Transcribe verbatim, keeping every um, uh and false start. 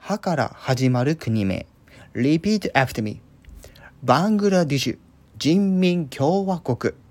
はから始まる国名。Repeat after me. バングラディシュ人民共和国。